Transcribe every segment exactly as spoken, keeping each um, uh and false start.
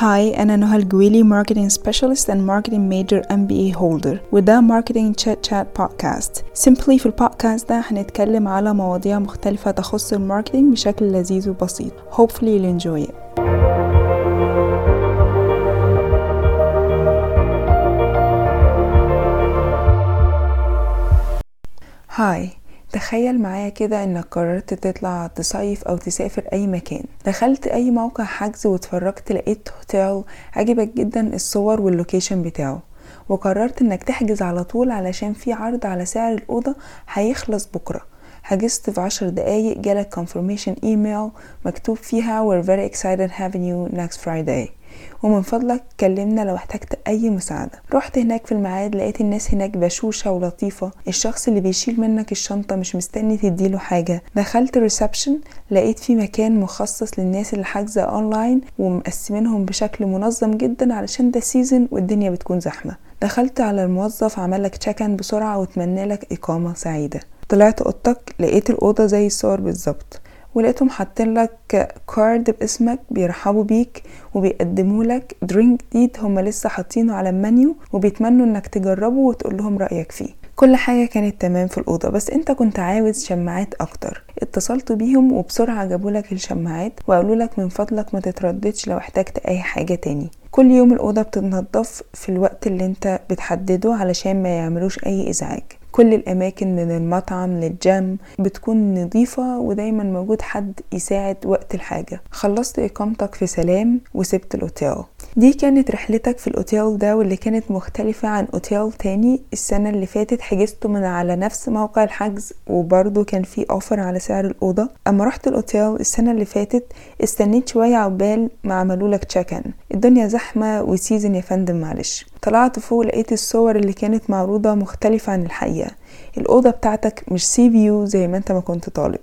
هاي أنا نهى الجويلي Marketing Specialist and Marketing Major إم بي إيه Holder وده Marketing Chat Chat Podcast. Simply في البودكاست ده هنتكلم على مواضيع مختلفة تخص الماركتينج بشكل لذيذ وبسيط. Hopefully you'll enjoy it. هاي تخيل معايا كده انك قررت تطلع تصيف او تسافر اي مكان. دخلت اي موقع حجز واتفرجت لقيت هوتيل عجبك جدا الصور واللوكيشن بتاعه، وقررت انك تحجز على طول علشان في عرض على سعر الأوضة هيخلص بكرة. حجزت في عشر دقايق جالك confirmation email مكتوب فيها we're very excited having you next Friday ومن فضلك كلمنا لو احتجت اي مساعدة. رحت هناك في الميعاد لقيت الناس هناك بشوشة ولطيفة، الشخص اللي بيشيل منك الشنطة مش مستني تديله حاجة. دخلت الريسبشن لقيت في مكان مخصص للناس اللي حاجزة اونلاين ومقسمينهم بشكل منظم جدا علشان ده سيزن والدنيا بتكون زحمة. دخلت على الموظف عملك تشيك ان بسرعة واتمنى لك اقامة سعيدة. طلعت اوضتك لقيت الأوضة زي الصور بالظبط، ولقيتهم حاطين لك كارد باسمك بيرحبوا بيك وبيقدموا لك درينك جديد هم لسه حاطينه على المنيو وبيتمنوا انك تجربه وتقول لهم رأيك فيه. كل حاجة كانت تمام في الأوضة، بس انت كنت عاوز شماعات اكتر. اتصلت بيهم وبسرعة جابوا لك الشماعات وقالوا لك من فضلك ما تترددش لو احتجت اي حاجة تاني. كل يوم الأوضة بتتنضف في الوقت اللي انت بتحدده علشان ما يعملوش اي ازعاج. كل الأماكن من المطعم للجيم بتكون نظيفة ودايما موجود حد يساعد وقت الحاجة. خلصت إقامتك في سلام وسبت الأوتيل. دي كانت رحلتك في الأوتيل ده، واللي كانت مختلفة عن أوتيل تاني السنة اللي فاتت حجزته من على نفس موقع الحجز وبرضو كان في أوفر على سعر الأوضة. أما رحت الأوتيل السنة اللي فاتت استنيت شوية عقبال ما عملولك تشيك ان. الدنيا زحمة وسيزن يا فندم معلش. طلعت فوق لقيت الصور اللي كانت معروضة مختلفة عن الحقيقة. الأوضة بتاعتك مش سي فيو زي ما انت ما كنت طالب.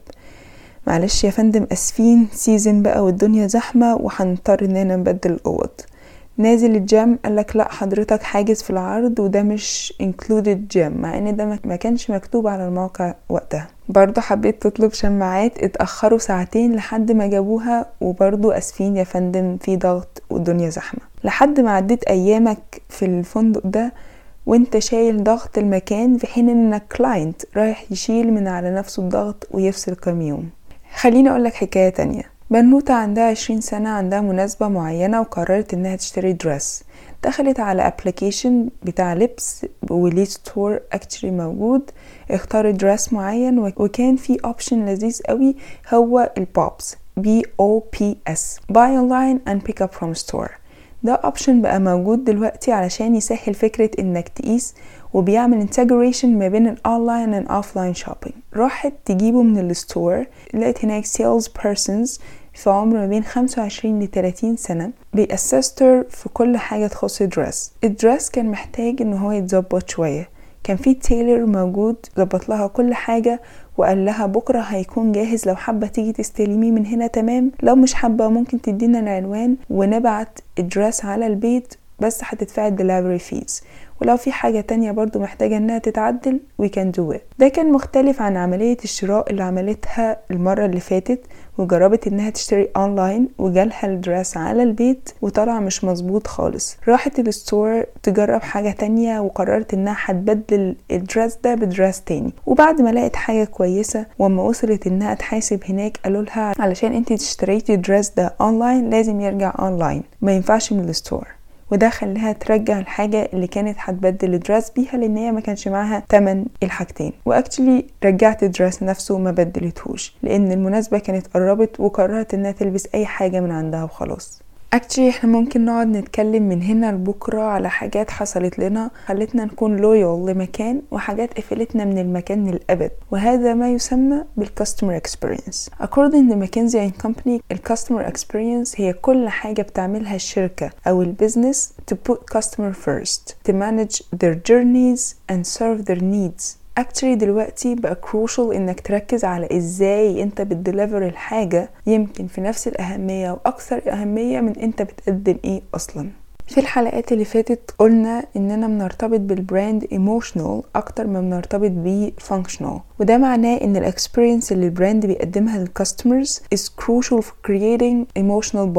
معلش يا فندم اسفين سيزن بقى والدنيا زحمة وحنضطر اننا نبدل الأوض. نازل الجيم قالك لا حضرتك حاجز في العرض وده مش included جيم، مع ان ده ما كانش مكتوب على الموقع وقتها. برضو حبيت تطلب شماعات اتأخروا ساعتين لحد ما جابوها وبرضو اسفين يا فندم في ضغط والدنيا زحمة. لحد ما عديت ايامك في الفندق ده وانت شايل ضغط المكان في حين انك كلاينت رايح يشيل من على نفسه الضغط ويفصل كام يوم. خليني اقولك حكاية تانية. بنوتة عندها عشرين سنة عندها مناسبة معينة وقررت انها تشتري درس. دخلت على ابليكيشن بتاع لبس وليه ستور اكتشري موجود، اختارت درس معين وكان في اوبشن لذيذ قوي هو البوبس بي او بي اس buy online and pick up from store. ده اوبشن بقى موجود دلوقتي علشان يسهل فكرة انك تقيس وبيعمل integration ما بين الاونلاين and offline shopping. راحت تجيبه من الستور لقيت هناك sales persons في عمر ما بين خمسة وعشرين لثلاثين سنة بيأسستر في كل حاجة تخص الدرس. الدرس كان محتاج انه هو يتظبط شوية، كان في تيلر موجود ظبط لها كل حاجة وقال لها بكرة هيكون جاهز، لو حابة تيجي تستلميه من هنا تمام، لو مش حابة ممكن تدينا العنوان ونبعت الدرس على البيت بس هتدفع الدليفري فيز، ولو في حاجة تانية برضو محتاجة انها تتعدل we can do it. ده كان مختلف عن عملية الشراء اللي عملتها المرة اللي فاتت وجربت انها تشتري اونلاين وجالها الدرس على البيت وطلع مش مظبوط خالص. راحت الستور تجرب حاجة تانية وقررت انها هتبدل الدرس ده بدرس تاني، وبعد ما لقيت حاجة كويسة وما وصلت انها تحاسب هناك قالوا لها علشان انتي تشتريتي الدرس ده اونلاين لازم يرجع اونلاين ما ينفعش من الستور. وده خليها ترجع الحاجة اللي كانت هتبدل الدرس بيها لان هي ما كانش معاها تمن الحاجتين. واكتشلي رجعت الدرس نفسه وما بدلتهوش لان المناسبة كانت قربت وقررت انها تلبس اي حاجة من عندها وخلاص. اكتشلي احنا ممكن نقعد نتكلم من هنا لبكرة على حاجات حصلت لنا خلتنا نكون لويال لمكان وحاجات قفلتنا من المكان للأبد، وهذا ما يسمى بالكاستمر اكسبيرينس. According to McKinsey and Company الكاستمر اكسبيرينس هي كل حاجة بتعملها الشركة او البيزنس to put customer first, to manage their journeys and serve their needs. actually دلوقتي بقى crucial انك تركز على ازاي انت بتدليفر الحاجة يمكن في نفس الاهمية واكثر اهمية من انت بتقدم ايه اصلا. في الحلقات اللي فاتت قلنا اننا بنرتبط بالبراند ايموشنال اكتر ما بنرتبط بيه فانكشنال، وده معناه ان الاكسبيرينس اللي البراند بيقدمها للكاستمرز is crucial for creating emotional bond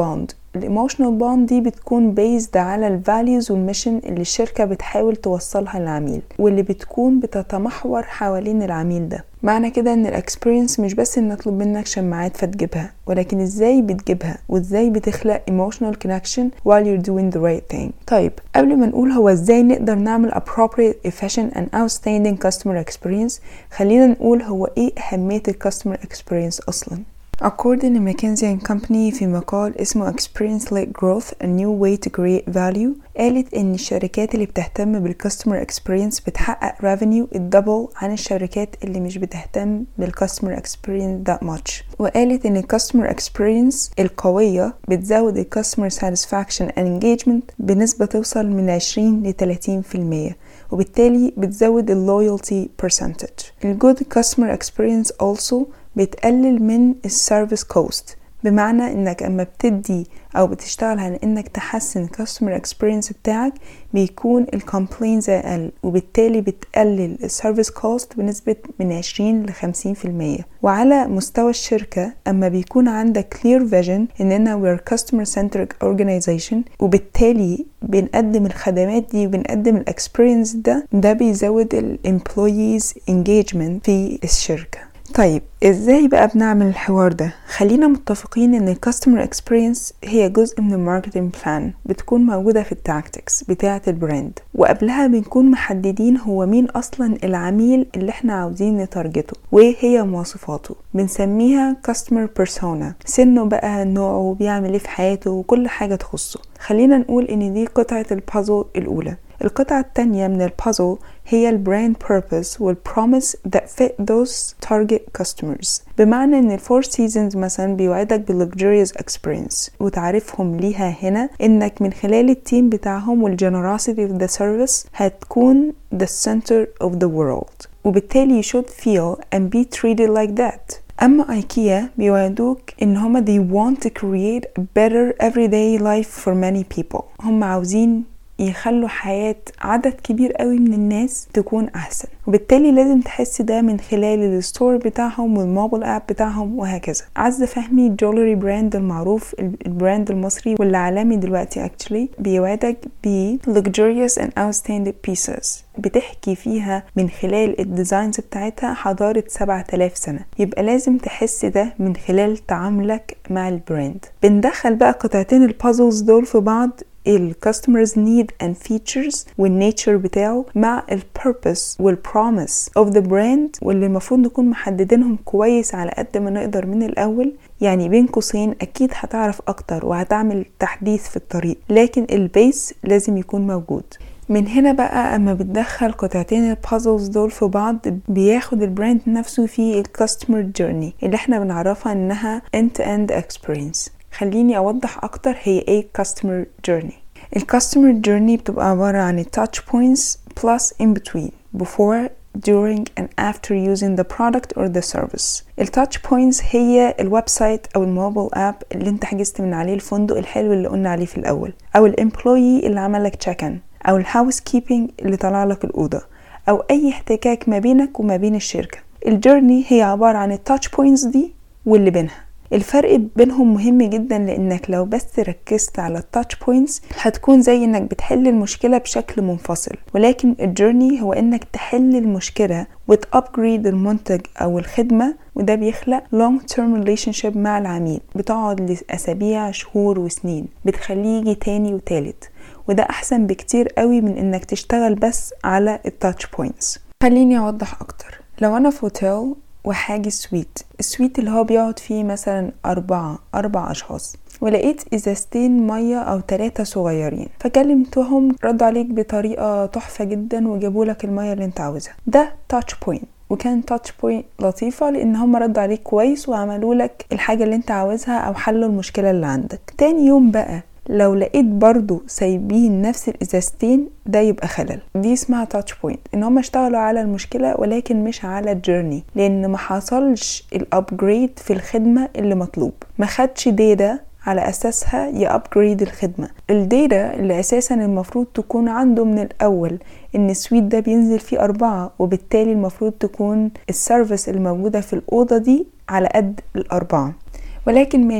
الايموشنال بوند دي بتكون based على الفاليوز والميشن اللي الشركة بتحاول توصلها للعميل واللي بتكون بتتمحور حوالين العميل ده. معنى كده ان الاكسبيرينس مش بس ان نطلب منك شماعات فتجيبها، ولكن ازاي بتجيبها وازاي بتخلق emotional connection while you're doing the right thing. طيب قبل ما نقول هو ازاي نقدر نعمل appropriate, efficient and outstanding customer experience، خلينا نقول هو ايه اهمية الكاستمر experience اصلا. According to McKinsey and Company في مقال اسمه Experience-led Growth: A New Way to Create Value، قالت ان الشركات اللي بتهتم بالكاستمر اكسبيرينس بتحقق revenue الدبل عن الشركات اللي مش بتهتم بالكاستمر اكسبيرينس that much. وقالت ان الكاستمر اكسبيرينس القوية بتزود الكاستمر satisfaction and engagement بنسبة توصل من عشرين ل ثلاثين بالمية، وبالتالي بتزود ال loyalty percentage. ال good customer experience also بتقلل من السيرفيس كوست، بمعنى انك اما بتدي او بتشتغل على انك تحسن الكاستمر اكسبيرينس بتاعك بيكون الكومبلينز اقل، وبالتالي بتقلل السيرفيس كوست بنسبة من عشرين ل خمسين بالمية. وعلى مستوى الشركة اما بيكون عندك clear vision اننا we're customer centric organization، وبالتالي بنقدم الخدمات دي وبنقدم الاكسبيرينس ده ده بيزود الامبلويز engagement في الشركة. طيب ازاي بقى بنعمل الحوار ده؟ خلينا متفقين ان الكاستمر اكسبيرينس هي جزء من الماركتنج بلان، بتكون موجودة في التاكتكس بتاعة البراند، وقبلها بنكون محددين هو مين اصلا العميل اللي احنا عاوزين نتارجته وايه هي مواصفاته. بنسميها كاستمر بيرسونا، سنه بقى، نوعه، بيعمل ايه في حياته، وكل حاجة تخصه. خلينا نقول ان دي قطعة البازل الاولى. القطعة التانية من البازل هي البراند purpose والpromise that fit those target customers، بمعنى ان الفور سيزونز مثلا بيوعدك بالluxurious experience، وتعرفهم ليها هنا انك من خلال التيم بتاعهم والgenerosity of the service هتكون the center of the world، وبالتالي you should feel and be treated like that. اما ايكيا بيوعدوك ان هما they want to create a better everyday life for many people، هم عاوزين يخلوا حياة عدد كبير قوي من الناس تكون احسن، وبالتالي لازم تحس ده من خلال الستور بتاعهم والموبايل اب بتاعهم وهكذا. عزة فهمي جولري براند المعروف، البراند المصري واللي عالمي دلوقتي actually، بيوعدك ب luxurious and outstanding pieces، بتحكي فيها من خلال الديزاينز بتاعتها حضارة سبعة آلاف سنة. يبقى لازم تحس ده من خلال تعاملك مع البراند. بندخل بقى قطعتين البازلز دول في بعض، ال customers need and features والنيتشر بتاعه مع ال purpose وال promise of the brand، واللي المفروض نكون محددينهم كويس على قد ما نقدر من الأول. يعني بين قوسين أكيد هتعرف أكتر وهتعمل تحديث في الطريق، لكن البيس لازم يكون موجود. من هنا بقى اما بتدخل قطعتين البازلز دول في بعض بياخد البراند نفسه في الكاستمر جيرني اللي احنا بنعرفها انها end to end experience. خليني اوضح اكتر هي ايه customer journey. الكاستمر جيرني بتبقى عبارة عن touch points plus in between before, during and after using the product or the service. التاتش بوينتس هي الويب سايت او الموبايل اب اللي انت حجزت من عليه الفندق الحلو اللي قلنا عليه في الاول، او الامبلويي اللي عمل لك تشيك ان، او الهاوس كيبنج اللي طلع لك الاوضه، او اي احتكاك ما بينك وما بين الشركه. الجيرني هي عباره عن التاتش بوينتس دي واللي بينها. الفرق بينهم مهم جدا، لانك لو بس ركزت على التاتش بوينتس هتكون زي انك بتحل المشكله بشكل منفصل، ولكن الجيرني هو انك تحل المشكله وتابجريد المنتج او الخدمه، وده بيخلق long term relationship مع العميل بتقعد لاسابيع، شهور وسنين، بتخليه يجي تاني وتالت، وده احسن بكتير قوي من انك تشتغل بس على التاتش بوينتس. خليني اوضح اكتر. لو انا في هوتيل وحاجز سويت، السويت اللي هو بيقعد فيه مثلا أربعة أربع أشخاص، ولقيت إزازتين مية أو ثلاثة صغيرين، فكلمتهم ردوا عليك بطريقة تحفة جدا وجابوا لك المية اللي انت عاوزها. ده تاتش بوينت، وكان تاتش بوينت لطيفة لأن هم ردوا عليك كويس وعملوا لك الحاجة اللي انت عاوزها أو حلوا المشكلة اللي عندك. تاني يوم بقى لو لقيت برضو سايبين نفس الازازتين، ده يبقى خلل. دي اسمها تاتش بوينت، ان هم اشتغلوا على المشكله ولكن مش على الجيرني، لان ما حصلش الابجريد في الخدمه اللي مطلوب، ما خدش داتا على اساسها يابجريد الخدمه. الداتا اللي اساسا المفروض تكون عنده من الاول ان السويت ده بينزل فيه اربعة، وبالتالي المفروض تكون السيرفيس الموجوده في الاوضه دي على قد الاربعه. ولكن ماشي،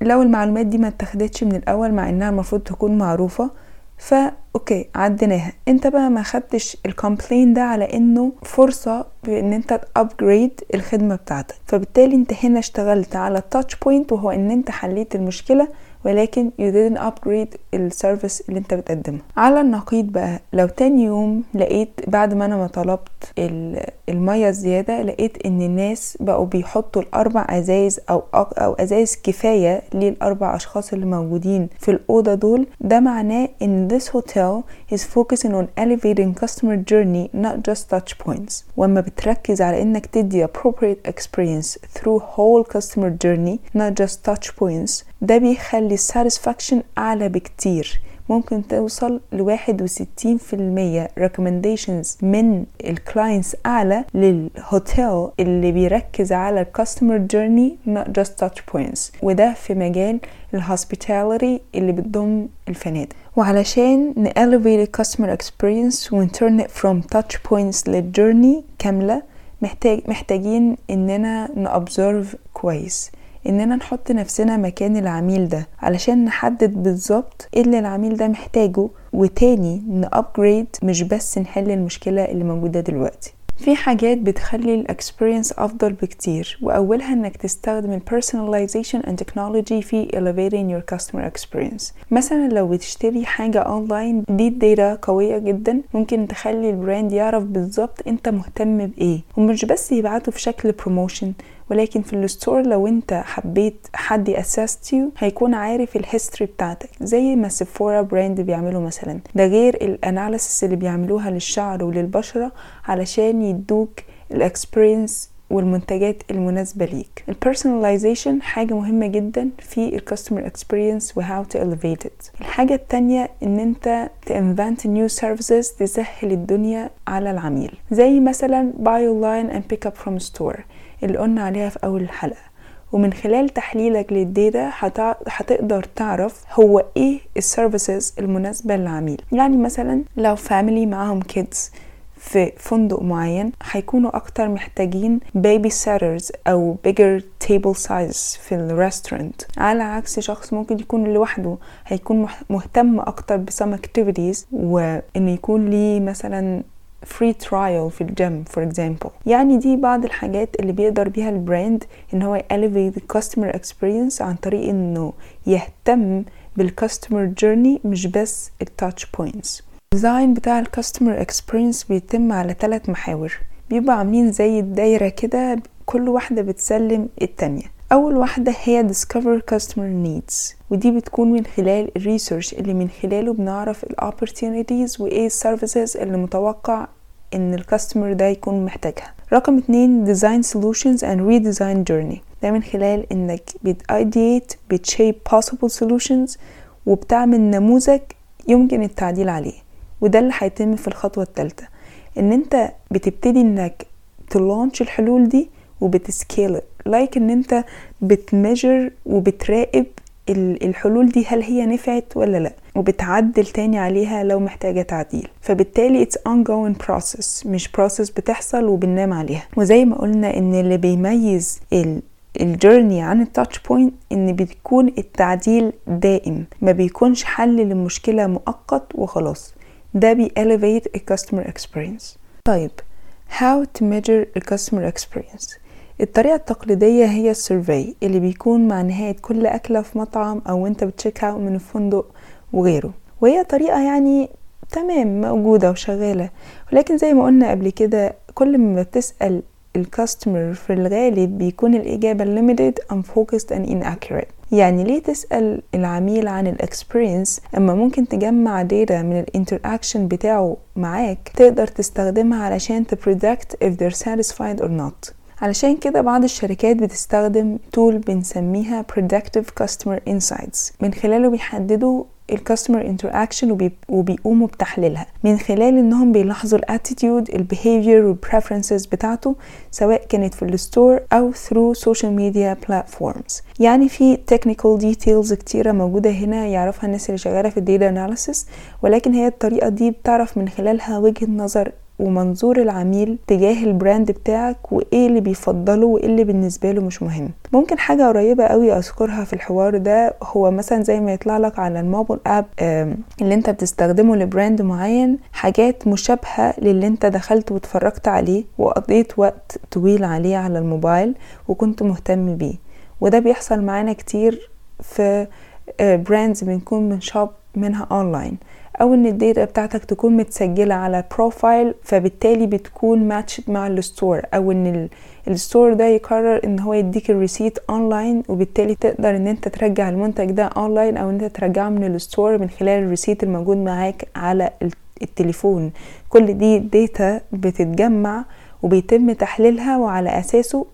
لو المعلومات دي ما اتخدتش من الاول مع انها المفروض تكون معروفة، فا اوكي عديناها. انت بقى ما خدتش الكومبلين ده على انه فرصة بان انت تابجريد الخدمة بتاعتك، فبالتالي انت هنا اشتغلت على التاتش بوينت، وهو ان انت حليت المشكلة ولكن you didn't upgrade السيرفيس اللي انت بتقدمه. على النقيض بقى، لو تاني يوم لقيت بعد ما انا ما طلبت المية الزيادة، لقيت ان الناس بقوا بيحطوا الاربع ازايز او او ازايز كفاية للاربع اشخاص اللي موجودين في الاوضة دول، ده معناه ان this hotel is focusing on elevating customer journey not just touch points. وما بتركز على انك تدي appropriate experience through whole customer journey not just touch points، ده بيخلي الساتسفاكشن اعلى بكتير. ممكن توصل لواحد وستين في المية recommendations من الكلاينتس اعلى للهوتيل اللي بيركز على الكاستمر جيرني not just touch points، وده في مجال الهوسبيتاليتي اللي بتضم الفنادق. وعلشان نelevate الكاستمر experience ونturn it from touch points للجيرني كاملة، محتاج محتاجين اننا نobserve كويس، اننا نحط نفسنا مكان العميل ده علشان نحدد بالظبط ايه اللي العميل ده محتاجه، وتاني نابجريد مش بس نحل المشكلة اللي موجودة دلوقتي. في حاجات بتخلي الاكسبيرينس افضل بكتير، واولها انك تستخدم البيرسوناليزيشن اند تكنولوجي في elevating your customer experience. مثلا لو بتشتري حاجة اونلاين، دي داتا قوية جدا ممكن تخلي البراند يعرف بالظبط انت مهتم بايه، ومش بس يبعته في شكل بروموشن، ولكن في الستور لو انت حبيت حد يأسست يو هيكون عارف الهيستوري بتاعتك، زي ما سيفورا براند بيعملوا مثلا. ده غير الاناليسيس اللي بيعملوها للشعر وللبشرة علشان يدوك الاكسبيرينس والمنتجات المناسبة ليك. البيرسوناليزيشن حاجة مهمة جدا في الكاستمر اكسبيرينس وهاو تو elevate it. الحاجة التانية ان انت تinvent new services تسهل الدنيا على العميل، زي مثلا buy online and pick up from store اللي قلنا عليها في اول الحلقة. ومن خلال تحليلك للداتا هتقدر تعرف هو ايه السيرفيسز المناسبة للعميل. يعني مثلا لو فاميلي معاهم كيدز في فندق معين، هيكونوا اكتر محتاجين بيبي سيترز او bigger table size في الريستورانت، على عكس شخص ممكن يكون لوحده هيكون مهتم اكتر بسم activities، وانه يكون ليه مثلا free trial في الجيم for example. يعني دي بعض الحاجات اللي بيقدر بيها البراند ان هو elevate the customer experience عن طريق انه يهتم بالcustomer journey مش بس التاتش بوينتس. الديزاين بتاع الكاستمر اكسبيرينس بيتم على ثلاث محاور، بيبقى عاملين زي الدايرة كده، كل واحدة بتسلم التانية. اول واحدة هي discover customer needs، ودي بتكون من خلال الريسيرش اللي من خلاله بنعرف opportunities وايه services اللي متوقع ان الكاستمر ده يكون محتاجها. رقم اتنين design solutions and redesign journey، ده من خلال انك بت-ideate بت-shape possible solutions وبتعمل نموذج يمكن التعديل عليه. وده اللي هيتم في الخطوة الثالثة، ان انت بتبتدي انك تلونش الحلول دي وبتسكيل لايك ان انت بتميجر وبتراقب الحلول دي هل هي نفعت ولا لا، وبتعدل تاني عليها لو محتاجة تعديل. فبالتالي it's ongoing process، مش process بتحصل وبننام عليها. وزي ما قلنا ان اللي بيميز ال الجيرني عن التاتش بوينت ان بتكون التعديل دائم، ما بيكونش حل للمشكلة مؤقت وخلاص. ده بي elevate a customer experience. طيب how to measure a customer experience؟ الطريقة التقليدية هي السيرفي اللي بيكون مع نهاية كل أكلة في مطعم أو انت بتشيك اوت من الفندق وغيره، وهي طريقة يعني تمام موجودة وشغالة، ولكن زي ما قلنا قبل كده كل ما بتسأل الكاستمر في الغالب بيكون الإجابة limited, unfocused and inaccurate. يعني ليه تسأل العميل عن الاكسبيرينس اما ممكن تجمع داتا من الانتراكشن بتاعه معاك تقدر تستخدمها علشان تبريدكت if they're satisfied or not. علشان كده بعض الشركات بتستخدم تول بنسميها predictive customer insights، من خلاله بيحددوا الكاستمر انتراكشن وبيقوموا بتحليلها من خلال انهم بيلاحظوا الاتيتيود البيهيفير والبريفرنسز بتاعته، سواء كانت في الستور او through social media platforms. يعني في technical details كتيرة موجودة هنا يعرفها الناس اللي شغالة في الداتا analysis، ولكن هي الطريقة دي بتعرف من خلالها وجهة نظر ومنظور العميل تجاه البراند بتاعك وايه اللي بيفضله وايه اللي بالنسبه له مش مهم. ممكن حاجه قريبه قوي اذكرها في الحوار ده هو مثلا زي ما يطلع لك على الموبايل اب اللي انت بتستخدمه لبراند معين حاجات مشابهه للي انت دخلت واتفرجت عليه وقضيت وقت طويل عليه على الموبايل وكنت مهتم بيه. وده بيحصل معانا كتير في براندز بنكون من شوب منها اونلاين، او ان الداتا بتاعتك تكون متسجلة على بروفايل فبالتالي بتكون ماتشد مع الستور، او ان الستور ده يقرر ان هو يديك الريسيت اونلاين وبالتالي تقدر ان انت ترجع المنتج ده اونلاين او ان انت ترجعه من الستور من خلال الريسيت الموجود معاك على التليفون. كل دي داتا بتتجمع وبيتم تحليلها وعلى اساسه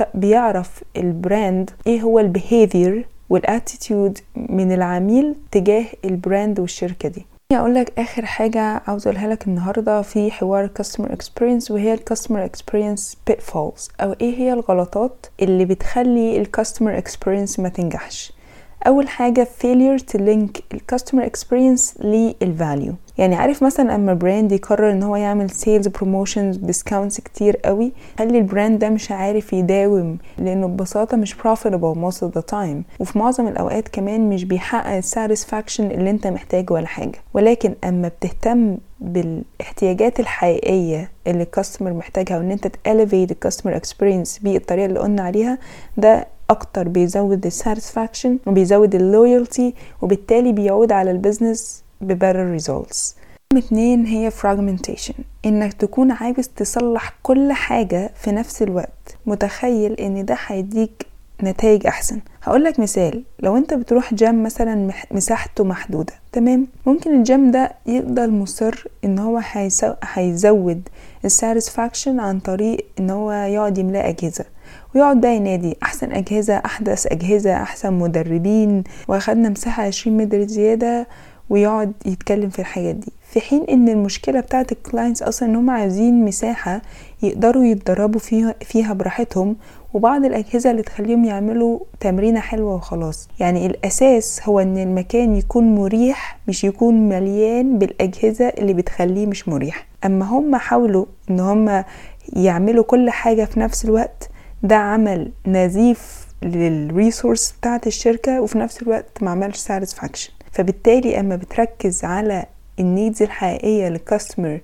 بيعرف البراند ايه هو البيهيفير والاتيتيود من العميل تجاه البراند والشركة دي. اقول لك اخر حاجة عاوز اقولها لك النهاردة في حوار customer experience، وهي customer experience pitfalls، او ايه هي الغلطات اللي بتخلي customer experience ما تنجحش. اول حاجة failure to link customer experience للفاليو. يعني عارف مثلا اما براند يقرر ان هو يعمل sales promotions discounts كتير قوي، خلي البراند ده مش عارف يداوم لانه ببساطة مش profitable most of the time، وفي معظم الاوقات كمان مش بيحقق satisfaction اللي انت محتاجه ولا حاجة. ولكن اما بتهتم بالاحتياجات الحقيقية اللي الكاستمر محتاجها وان انت elevate الكاستمر experience بالطريقة اللي قلنا عليها، ده اكتر بيزود الساتسفاكشن وبيزود اللويالتي وبالتالي بيعود على البيزنس ببرر results. اتنين هي fragmentation، انك تكون عايز تصلح كل حاجة في نفس الوقت، متخيل ان ده هيديك نتائج احسن. هقولك مثال، لو انت بتروح جيم مثلا مساحته محدودة، تمام، ممكن الجيم ده يفضل مصر ان هو هيزود الساتسفاكشن عن طريق ان هو يقعد يملأ اجهزة ويقعد بقى ينادي احسن اجهزة، احدث اجهزة، احسن مدربين، واخدنا مساحة عشرين متر زيادة، ويقعد يتكلم في الحاجات دي، في حين ان المشكلة بتاعت الكلاينتس اصلا ان هم عايزين مساحة يقدروا يتدربوا فيها, فيها براحتهم، وبعض الاجهزة اللي تخليهم يعملوا تمرينة حلوة وخلاص. يعني الاساس هو ان المكان يكون مريح، مش يكون مليان بالاجهزة اللي بتخليه مش مريح. اما هم حاولوا ان هم يعملوا كل حاجة في نفس الوقت، ده عمل نزيف للريسورس بتاعت الشركة وفي نفس الوقت ما عملش ساتسفاكشن. فبالتالي اما بتركز على النيدز الحقيقية للكاستمر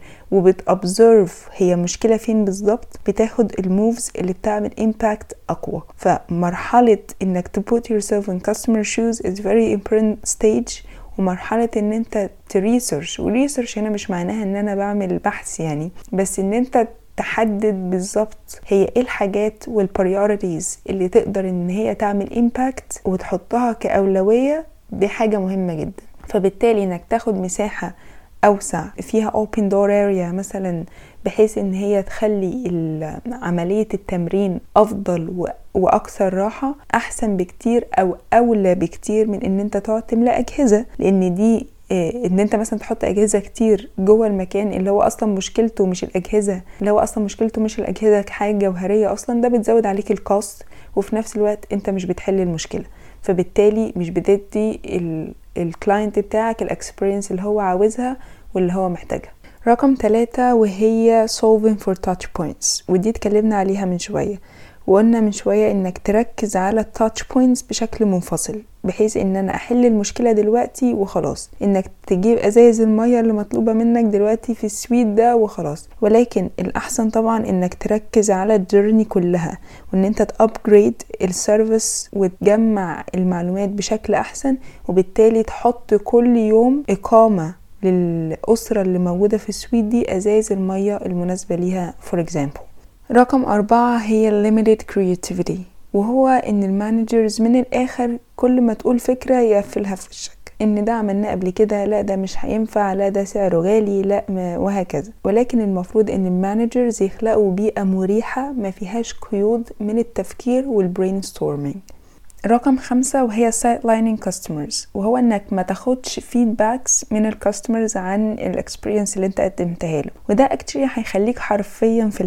وبتأبزرف هي مشكلة فين بالظبط، بتاخد الموفز اللي بتعمل impact أقوى. فمرحلة انك to put yourself in customer shoes is very important stage، ومرحلة ان انت تريسيرش، وريسيرش هنا مش معناها ان انا بعمل بحث يعني، بس ان انت تحدد بالظبط هي ايه الحاجات والبريوريتيز اللي تقدر ان هي تعمل impact وتحطها كأولوية. دي حاجة مهمة جدا. فبالتالي انك تاخد مساحة اوسع فيها open door area مثلا، بحيث ان هي تخلي عملية التمرين افضل واكثر راحة، احسن بكتير او اولى بكتير من ان انت تقعد تملأ اجهزة. لان دي إيه، ان انت مثلا تحط اجهزة كتير جوه المكان اللي هو اصلا مشكلته مش الاجهزة، اللي هو اصلا مشكلته مش الاجهزة كحاجة جوهرية اصلا، ده بتزود عليك الكوست وفي نفس الوقت انت مش بتحل المشكلة. فبالتالي مش بتدي الكلاينت بتاعك الاكسبيرينس اللي هو عاوزها واللي هو محتاجها. رقم ثلاثة وهي solving for touch points، ودي اتكلمنا عليها من شوية، وقلنا من شوية انك تركز على touch points بشكل منفصل، بحيث ان انا احل المشكلة دلوقتي وخلاص، انك تجيب ازايز المية اللي مطلوبة منك دلوقتي في السويت ده وخلاص. ولكن الاحسن طبعا انك تركز على الجيرني كلها، وان انت تابجريد السيرفيس وتجمع المعلومات بشكل احسن، وبالتالي تحط كل يوم اقامة للأسرة اللي موجودة في السويت دي ازايز المية المناسبة ليها for example. رقم أربعة هي limited creativity، وهو ان المانجرز من الاخر كل ما تقول فكرة يقفلها في وشك، ان ده عملناه قبل كده، لا ده مش هينفع، لا ده سعره غالي، لا وهكذا. ولكن المفروض ان المانجرز يخلقوا بيئة مريحة ما فيهاش قيود من التفكير والبرين ستورمينج. رقم خمسة وهي sidelining customers، وهو انك ما تاخدش feedbacks من الكاستمرز عن الاكسبيرينس اللي انت قدمتها له، وده actually هيخليك حرفيا في الهوا.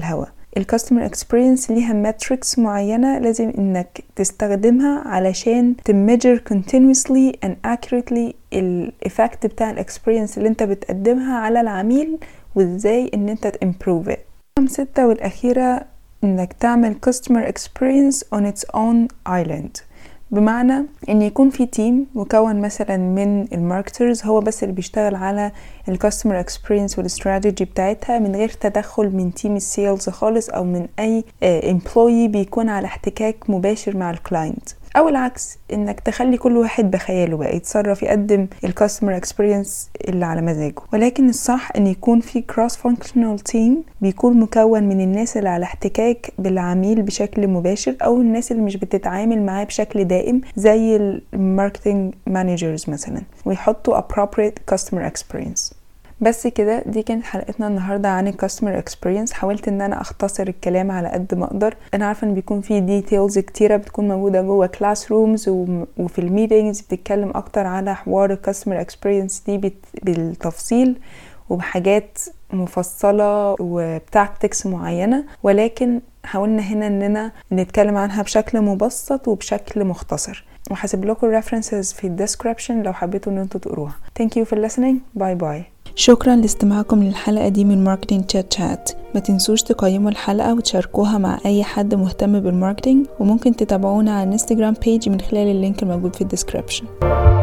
الكاستمر اكسبيرينس ليها ماتريكس معينة لازم انك تستخدمها علشان تميجر continuously and accurately الإفكت بتاع الاكسبيرينس اللي انت بتقدمها على العميل وازاي ان انت تimprove it. رقم ستة والأخيرة انك تعمل customer experience on its own island، بمعنى ان يكون في تيم مكون مثلا من الماركترز هو بس اللي بيشتغل على الكاستمر اكسبيرينس والاستراتيجي بتاعتها من غير تدخل من تيم السيلز خالص او من اي امبلويي بيكون على احتكاك مباشر مع الكلاينت، او العكس انك تخلي كل واحد بخياله بقى يتصرف يقدم الكاستمر اكسبيرينس اللي على مزاجه. ولكن الصح ان يكون في كروس فانكشنال تيم بيكون مكون من الناس اللي على احتكاك بالعميل بشكل مباشر او الناس اللي مش بتتعامل معاه بشكل دائم زي الماركتنج مانجرز مثلا، ويحطوا appropriate customer experience. بس كده دي كانت حلقتنا النهاردة عن الكاستمر اكسبيرينس. حاولت ان انا اختصر الكلام على قد ما اقدر. انا عارفة ان بيكون في ديتيلز كتيرة بتكون موجودة جوه كلاس رومز وفي الميتينجز بتتكلم اكتر على حوار الكاستمر اكسبيرينس دي بالتفصيل وبحاجات مفصلة وبتاكتكس معينة، ولكن حاولنا هنا اننا نتكلم عنها بشكل مبسط وبشكل مختصر، وحاسب لكم references في الديسكريبشن لو حبيتوا ان انتوا تقروها. Thank you for listening. باي باي. شكرا لاستماعكم للحلقة دي من ماركتينج تشات شات. ما تنسوش تقيموا الحلقة وتشاركوها مع اي حد مهتم بالماركتينج، وممكن تتابعونا على الانستجرام بيج من خلال اللينك الموجود في الديسكريبشن.